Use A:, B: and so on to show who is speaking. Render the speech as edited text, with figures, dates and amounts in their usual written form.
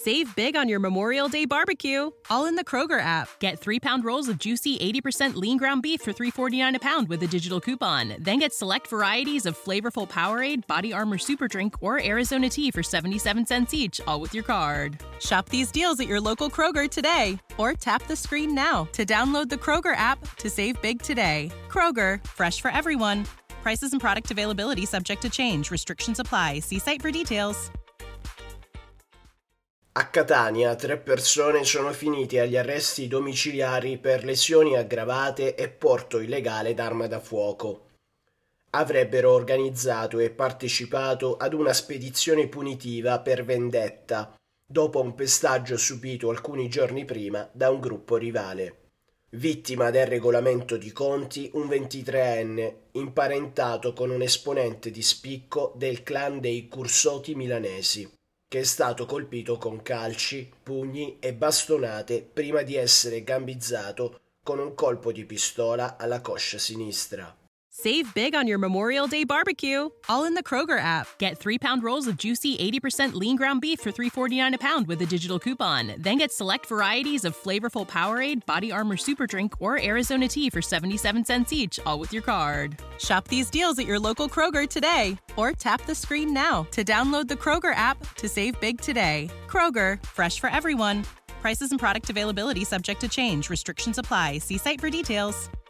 A: Save big on your Memorial Day barbecue, all in the Kroger app. Get 3-pound rolls of juicy 80% lean ground beef for $3.49 a pound with a digital coupon. Then get select varieties of flavorful Powerade, Body Armor Super Drink, or Arizona tea for 77 cents each, all with your card. Shop these deals at your local Kroger today, or tap the screen now to download the Kroger app to save big today. Kroger, fresh for everyone. Prices and product availability subject to change. Restrictions apply. See site for details.
B: A Catania 3 persone sono finite agli arresti domiciliari per lesioni aggravate e porto illegale d'arma da fuoco. Avrebbero organizzato e partecipato ad una spedizione punitiva per vendetta, dopo un pestaggio subito alcuni giorni prima da un gruppo rivale. Vittima del regolamento di conti un 23enne, imparentato con un esponente di spicco del clan dei Cursoti milanesi, che è stato colpito con calci, pugni e bastonate prima di essere gambizzato con un colpo di pistola alla coscia sinistra.
A: Save big on your Memorial Day barbecue, all in the Kroger app. Get 3-pound rolls of juicy 80% lean ground beef for $3.49 a pound with a digital coupon. Then get select varieties of flavorful Powerade, Body Armor Super Drink, or Arizona tea for 77 cents each, all with your card. Shop these deals at your local Kroger today, or tap the screen now to download the Kroger app to save big today. Kroger, fresh for everyone. Prices and product availability subject to change. Restrictions apply. See site for details.